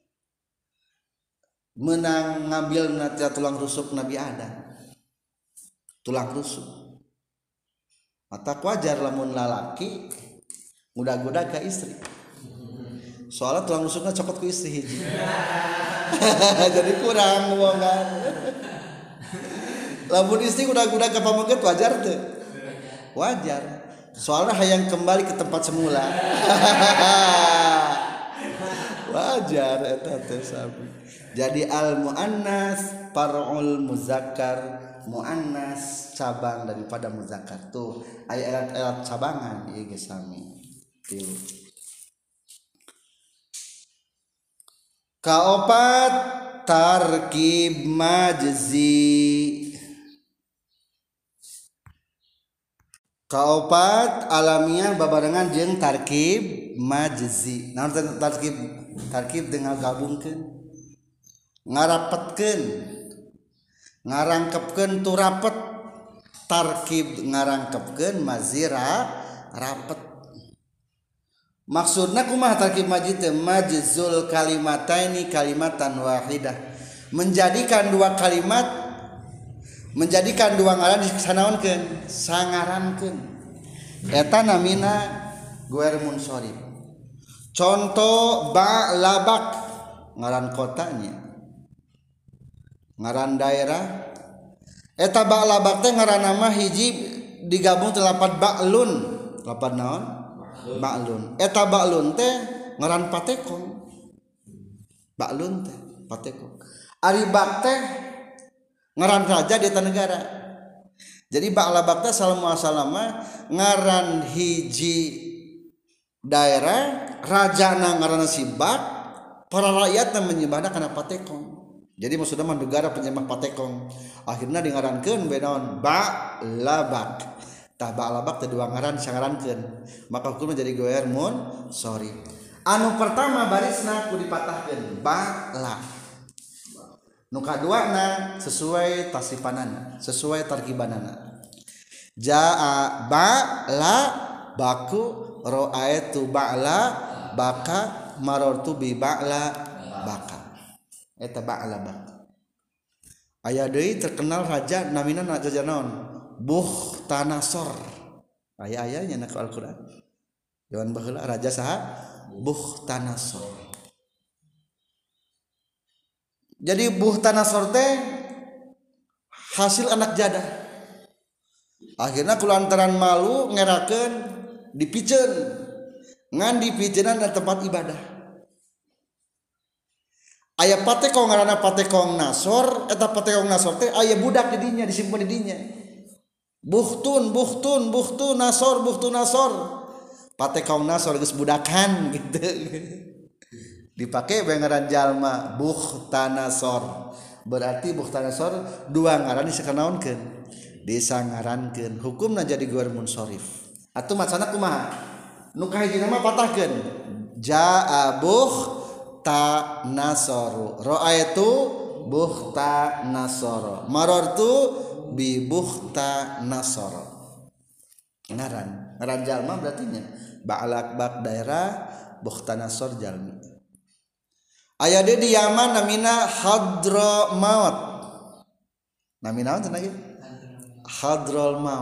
Menang ngambil nanti tulang rusuk Nabi Adam. Tulang rusuk. Mata wajar lamun lalaki mudah-mudah ke istri. Soalnya tulang rusuknya copot ke istri hiji. Jadi kurang ngomongkan. Lamun istri mudah-mudah ke pameget wajar tuh. Wajar. Soalnya hayang kembali ke tempat semula. Wajar eta teh sabi. Jadi al muannas far'ul muzakkar, muannas cabang daripada muzakkar. Tuh aya elat-elat cabangan ieu geus sami. Tilu. Kaopat tarkib majzi. Kaopat alamiah babarengan jeung tarkib majzi. Naon tarkib? Tarkib dengan gabungkeun. Ngarapetkeun. Ngarangkepkeun tu rapet. Tarkib ngarangkepkeun mazira rapet. Maksudna kumaha tarkib majzi teh? Majzul kalimataini kalimatan wahidah. Menjadikan dua kalimat menjadikan dua ngaran disanaonkeun sangarankeun eta namina goer munsharif. Contoh ba'labak ngaran kotanya ngaran daerah eta ba'labak teh ngaran nama hiji digabung teh lapat ba'lun lapat naon ba'lun eta ba'lun teh ngaran patekong ba'lun teh patekong ari bak teh ngaran raja di eta negara. Jadi ba'labak teh salam muasalama ngaran hiji daerah rajana ngaranna si bak para rakyatna menyembahna kana patekong. Jadi maksudna mah negara penyembah patekong. Akhirna dingarankeun bae naon ba'labak. Tah ba'labak teh dua ngaran sangarankeun. Maka hukumna jadi goer mun sorry. Anu pertama barisna kudu dipatahkeun ba'la. Nu kaduana sesuai tasipanana, sesuai tarkibanana. Jaa ba'la baku ra'aitu ba'la baka marartu bi ba'la baka. Eta ba'la baka. Aya deui terkenal raja namina raja naon? Bukhtanasor. Aya-ayanya na Al-Qur'an. Jaman baheula raja saha? Bukhtanasor. Jadi Bukhtanasor teh hasil anak jadah. Akhirnya kulantaran malu ngerakeun dipiceun. Ngan dipiceunan di tempat ibadah. Aya patekong ngaranna patekong Nasor, eta patekong Nasor teh aya budak di dinya disimpen di dinya. Bukhtun, bukhtun, bukhtun Nasor, bukhtun Nasor. Patekong Nasor geus budakan gitu. Dipakai ngaran jalma Bukhtanasor. Berarti Bukhtanasor dua ngaran disakanaonkeun disangarankeun hukumna jadi goer munsharif. Atuh macana kumaha? Nu kahijina mah patahkeun jaa Bukhtanasoru ra'aitu Bukhtanasor marartu bi Bukhtanasor. Ngaran ngaran jalma berarti nya ba'lak bak daerah Bukhtanasor jalmi. Aya di Yaman namina Hadramaut. Namina naon cenah ieu? Hadramaut.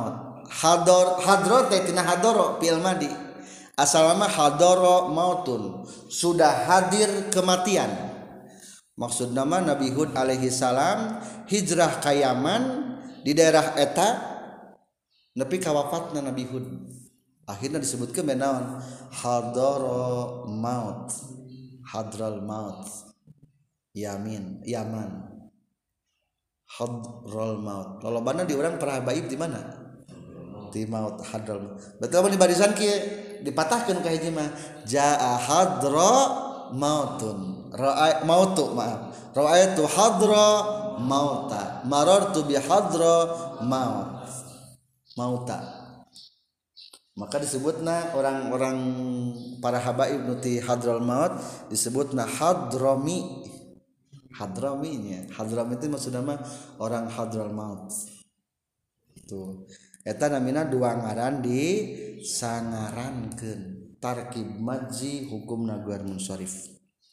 hador hadro teh tina hadoro fi'il madi asalna hadoro mautun sudah hadir kematian maksudna mah Nabi Hud alaihi salam hijrah ka Yaman di daerah eta nepi ka wafatna Nabi Hud akhirnya disebutkeun menaon hadoro maut hadral maut yamin Yaman hadral maut lolobana di urang para habaib di mana di maut hadral maut betul mun di barisan kieu dipatahkeun ka hiji mah jaa hadra mautun ra'a mautu maaf ra'aitu hadra mauta marartu bi hadra maut mauta maka disebutna orang-orang para habaib nuti hadral maut disebutna hadrami hadraminya hadrami itu maksudna mah orang hadral maut itu eta namina dua ngaran di sangarankeun tarkib majzi hukumna guar munsharif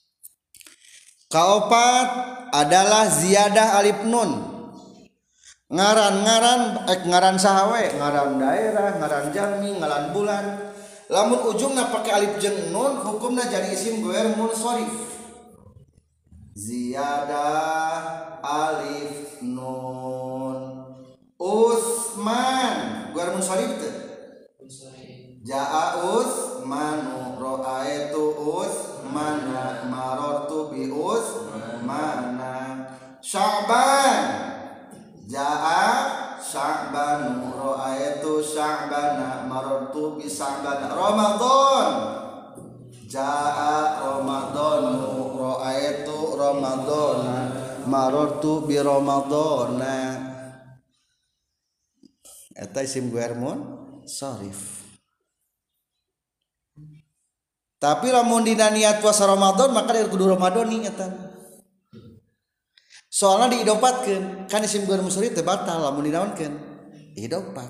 kaopat adalah ziyadah alif nun ngaran-ngaran ek ngaran sahawe ngaran daerah ngaran jami ngaran bulan lamun ujungna pake alif jeung nun hukumna jadi isim guar munsharif ziyadah alif nun Utsman guar munsharif teh jaa Utsmanu ra'aitu Utsmana marartu bi Utsmana Sya'ban jaa Sya'banu ra'aitu Sya'bana marartu bi Sya'bana Ramadan jaa Ramadanu ra'aitu Ramadana marartu bi Ramadana eta isim guar munsharif tapi lamun dina niat puasa Ramadan maka dia kudu Ramadani eta soalna diidopatkeun kan isim guar munsharif teh batal lamun dinaonkeun idopat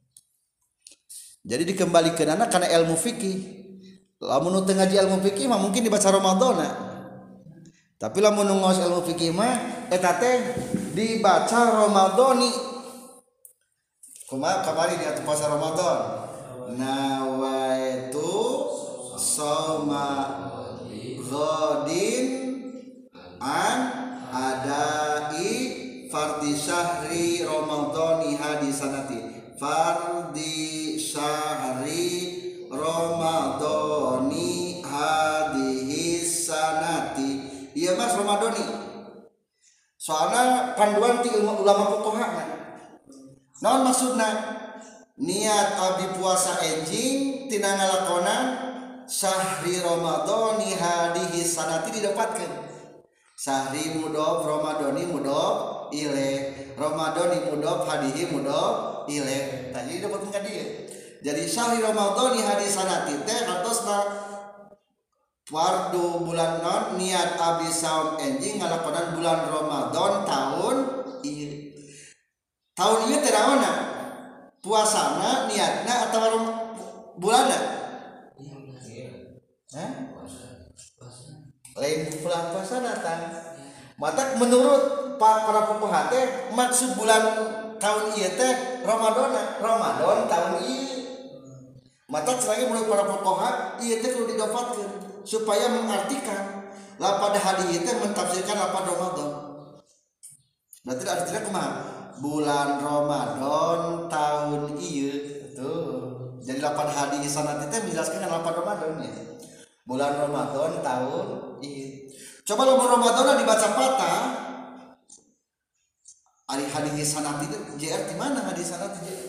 jadi dikembalikeunana kana ilmu fikih lamun nu teu ngaji ilmu fikih mah mungkin dibaca Ramadana tapi lamun nu ngaos ilmu fikih mah eta teh dibaca Ramadani kumaha kamari di atuh puasa Ramadan nawaitu soma ghadin an adai fardhi syahri ramadhani hadisanati fardhi syahri ramadhani hadihi sanati ieu mas ramadhani soalna panduan ti ulama fuqaha naon maksudna niat abdi puasa enjing tina ngalakonan syahri ramadhani hadihi sanati didapatkeun syahri mudhof ramadhani mudhof ilaih ramadhani mudhof hadihi mudhof ilaih tadi didapatkeun ka dieu jadi syahri ramadhani hadihi sanati teh hartosna fardu bulan non niat abdi saum enjing ngalakonan bulan Ramadan tahun ieu tahun ieu teh naonna puasana niatna atawa bulanna hah lain bulan puasana tah mata menurut para fuqaha teh maksud bulan tahun ieu teh Ramadan Ramadan tahun ieu mata selagi menurut para fuqaha ieu teh kudu didapatkeun supaya mengartikan lapad hadis teh mentafsirkan lapad Ramadan berarti artinya kumaha bulan Ramadan tahun ieu tuh jadi lapan hadis sanad teh menjelaskan lapan Ramadan ya bulan Ramadan tahun ieu coba lamun Ramadan dibaca patah ari hadis sanad itu J R di mana hadis sanad J R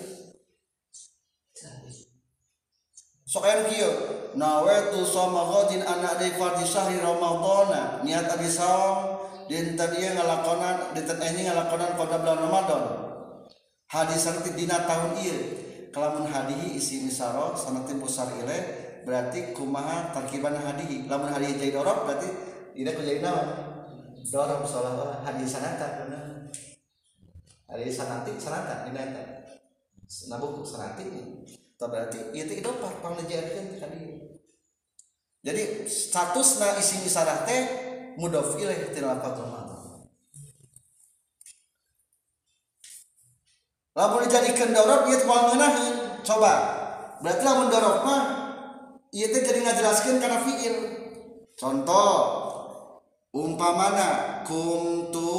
sok aya kieu nawaitu shoma ghadin ana di fardhi syahri ramadhana niat abdi saum dinten ieu ngalakonan dinten ini ngalakonan pada bulan Ramadan hadis sanati dina tahun ieu kalamun hadihi isi misaro sanati pusar ilaih berarti kumaha tarkiban hadihi lamun hadihi jadi dorok berarti tidak jadi naon dorok seolah-olah hadis sanata bener hadis sanati sanata dina eta nabuku sanati itu berarti ieu teh idopat panglejeurkeun ka dieu jadi statusna isi misarah teh mudhof ilaih tina lafaz Ramadan lamun dijadikeun dorob ieu teh moal ngeunaheun coba berarti lamun dorob mah ieu teh jadi ngajelaskeun kana fiil contoh umpamana kuntu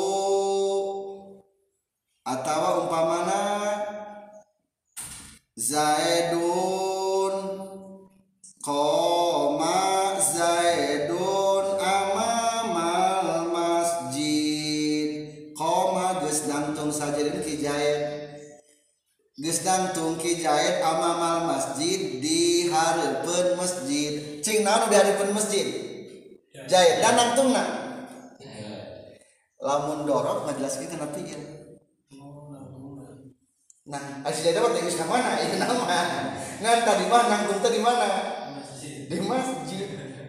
atawa umpamana Zaidun koma Zaidun amamal masjid koma geus dangtung sajidin ki Zaid geus dangtung ki Zaid amamal masjid di hareupeun masjid cing naon di hareupeun masjid Zaid dan dangtungna lamun dorob ngajelaskeun kana fiil nah asli Zaid mah geus ka mana ieu nama ngan tadi mah nangtung teh di mana di masjid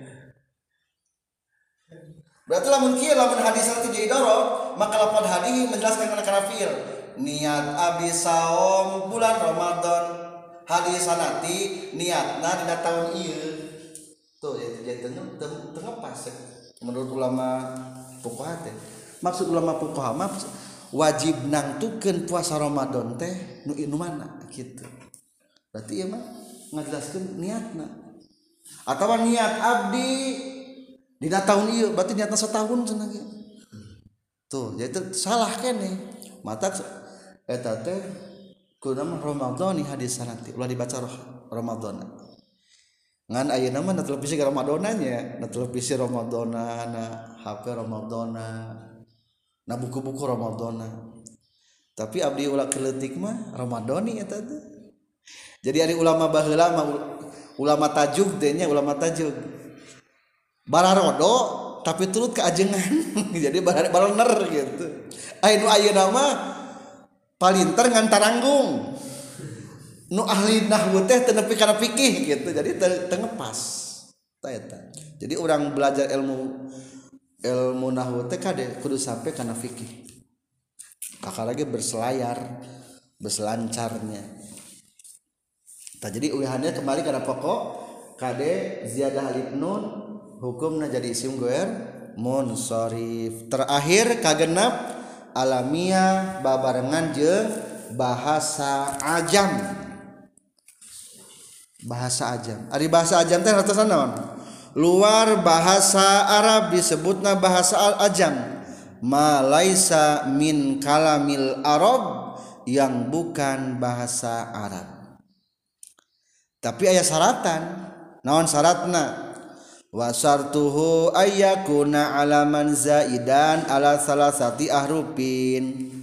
berarti lamun kieu lamun hadis teh jadi dorob maka lafaz hadis menjelaskan kana kana fiil niat abdi saum bulan Ramadan hadis sanati niatna dina taun ieu tuh jadi teu teu pas menurut ulama fuqaha teh maksud ulama fuqaha mah wajib nangtukeun puasa Ramadan teh nu nu mana kitu berarti ieu mah ngajelaskeun niatna atawa niat abdi dina taun ieu berarti niatna setahun cenah ge tuh jadi salah keneh mata eta teh kudu mah Ramadhani hadis sanati ulah dibaca Ramadhana ngan ayeuna mah na televisi ke Ramadhana nya na televisi Ramadhana na H P Ramadhana na buku-buku Ramadhana tapi abdi ulah keleutik mah Ramadhani eta teh jadi ari ulama baheula mah ulama tajuk teh nya ulama tajuk bararodo tapi turut ke ajengan jadi baraner gitu aya nu ayeuna mah palinter ngan taranggung nu ahli nahwu teh teu nepi kana fikih gitu jadi teu ngepas tah eta jadi urang belajar ilmu ilmu nahwu teh kade kudu sampai kana fikih kakak lagi berselayar berselancarnya tah jadi ulihannya kembali kana pokok kade ziyadah alif nun hukumna jadi isim goer munsharif terakhir kagenep alamiah babarengan jeung bahasa ajam bahasa ajam ari bahasa ajam teh ratosan naon luar bahasa Arab disebutna bahasa al-ajam ma laisa min kalamil Arab yang bukan bahasa Arab tapi aya syaratan naon syaratna wa syartuhu ayyakuna alaman zaidan ala salasati ahrufin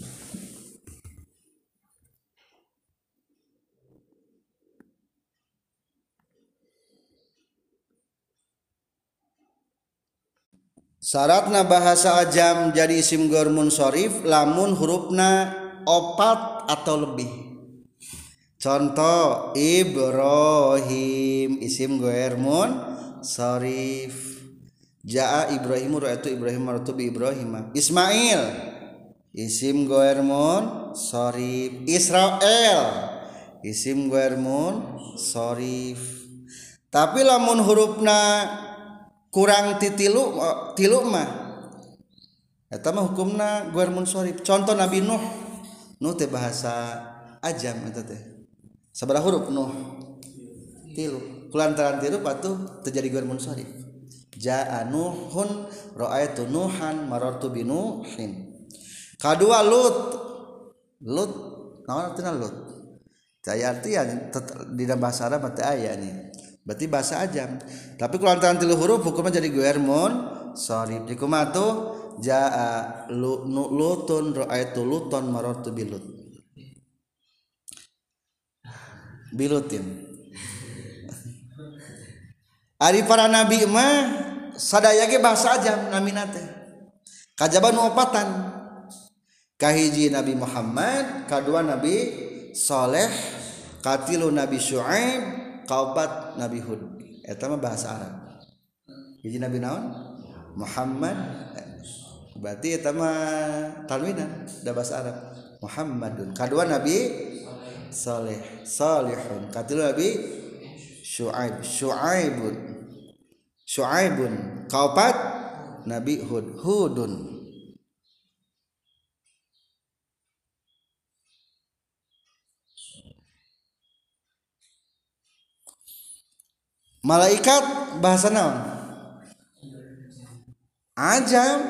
syaratna bahasa ajam jadi isim ghair munsharif lamun hurufna opat atau lebih contoh Ibrahim isim ghair munsharif jaa Ibrahim ra'aitu Ibrahim maratu bi Ibrahim Ismail isim ghair munsharif Israel isim ghair munsharif tapi lamun hurufna kurang titilu tilu mah eta mah hukumna ghair munsharif contoh Nabi Nuh Nuh teh bahasa ajam eta teh sabaraha huruf Nuh tilu kulantaran tilu patuh terjadi ghair munsharif jaa Nuhun ra'aitu Nuhan marartu bi Nuhin kadua Lut Lut naon artina Lut caya artian di dalam bahasa Arab teh aya nih berarti bahasa ajam tapi kalau antara tilu huruf hukumnya jadi ghair munsharif dikumaha tuh jaa lutun ra'aitu luton marartu bilut bilutin ari para nabi mah sadaya ge bahasa ajam namina teh kajaba nu opatan kahiji Nabi Muhammad kadua Nabi Saleh katilu Nabi Syuaib kaopat Nabi Hud eta mah bahasa Arab hiji Nabi naon Muhammad berarti eta mah tanwinan da bahasa Arab Muhammadun kadua Nabi Saleh Salihun katilu Nabi Syuaib Syuaibun Syuaibun kaopat Nabi Hud Hudun Malaikat bahasa naon? Ajam.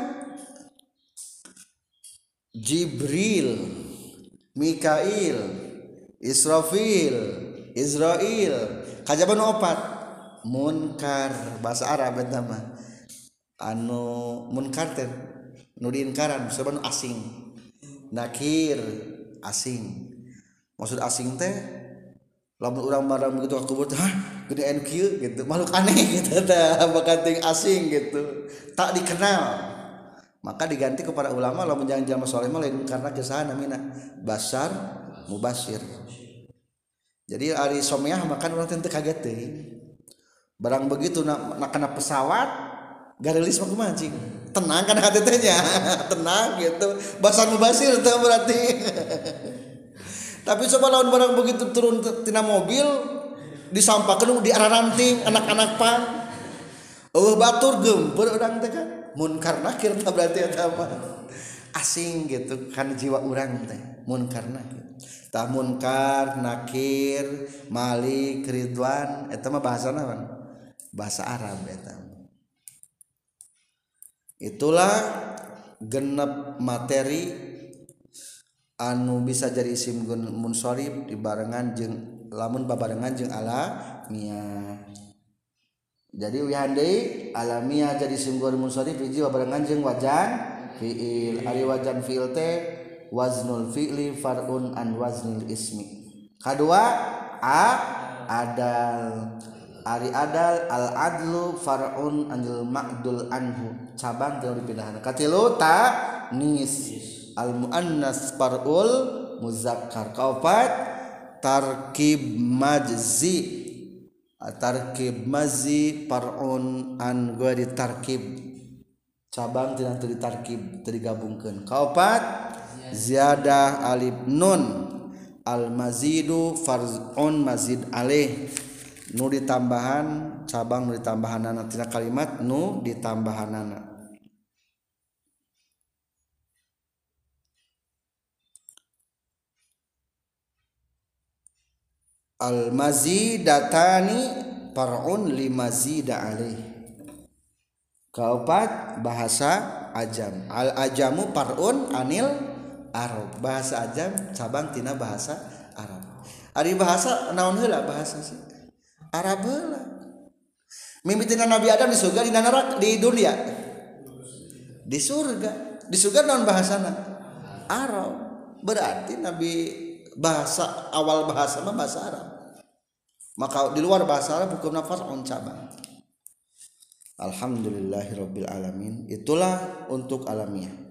Jibril, Mikail, Israfil, Israil, kajaban opat. Munkar bahasa Arab eta mah. Anu munkar teh nu diinkaran sabanu asing. Nakir asing. Maksud asing teh lamun urang barang begitu ka kubur teh hah gedean kieu gitu. Makhluk aneh gitu teh bakating asing gitu. Tak dikenal. Maka diganti kepada ulama lamun jangan jalma saleh mah lain karena kesahan namina basar mubashir. Jadi ari someah makan urang teh kaget teh. Barang begitu nak na kana pesawat garelis mah kumaha cing. Tenang kan hati teh nya. Tenang gitu. Basar mubashir teh berarti. Tapi coba lawan barang begitu turun tina mobil disampakeun di arah ranting anak-anak pang. Eueuh batur geumpeur urang teh kan. Munkar nakir teh berarti eta mah asing gitu kan jiwa urang teh munkar nakir. Tah munkar nakir malik ridwan eta mah bahasa naon? Bahasa Arab eta. Itulah genep materi anu bisa jadi isim munsharif dibarengan jeung lamun babarengan jeung alamiah. Jadi wihandai alamiah jadi isim ghair munsharif hiji babarengan jeung wajan fiil. Ari wajan fiil teh waznul fi'li far'un an waznil ismi. Kadua a adal. Ari adal al adlu far'un anil ma'dul anhu. Cabang teu dipindahan. Katilu ta nis al muannas far'ul muzakkar. Kaopat tarkib majzi. Tarkib mazi par'un an ghairi tarkib. Cabang tina teu ditarkib teu digabungkeun. Kaopat ziyadah alif nun al mazidu farzun mazid alaih. Nu ditambahan cabang nu ditambahanana tina kalimat nu ditambahanana. Al mazidatani far'un li mazida alaih. Kaopat bahasa ajam. Al ajamu far'un anil arab. Bahasa ajam cabang tina bahasa Arab. Ari bahasa naon heula bahasa sih? Arab heula. Mimitina Nabi Adam di surga di neraka di dunia. Di surga. Di surga naon bahasana? Arab. Berarti Nabi bahasa awal bahasa mah bahasa Arab. Maka di luar bahasa Arab hukumna far'un cabang. Alhamdulillahirabbil alamin. Itulah untuk alamiah.